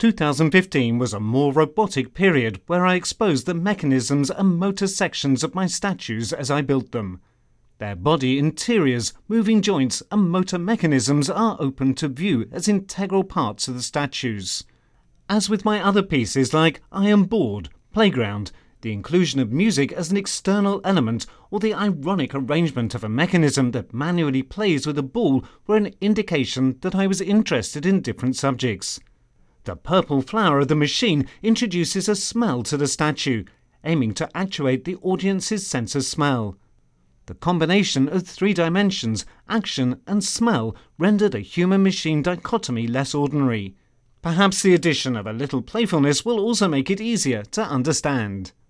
2015 was a more robotic period where I exposed the mechanisms and motor sections of my statues as I built them. Their body interiors, moving joints and motor mechanisms are open to view as integral parts of the statues. As with my other pieces like I Am Bored, Playground, the inclusion of music as an external element or the ironic arrangement of a mechanism that manually plays with a ball were an indication that I was interested in different subjects. The purple flower of the machine introduces a smell to the statue, aiming to actuate the audience's sense of smell. The combination of 3 dimensions, action and smell, rendered a human-machine dichotomy less ordinary. Perhaps the addition of a little playfulness will also make it easier to understand.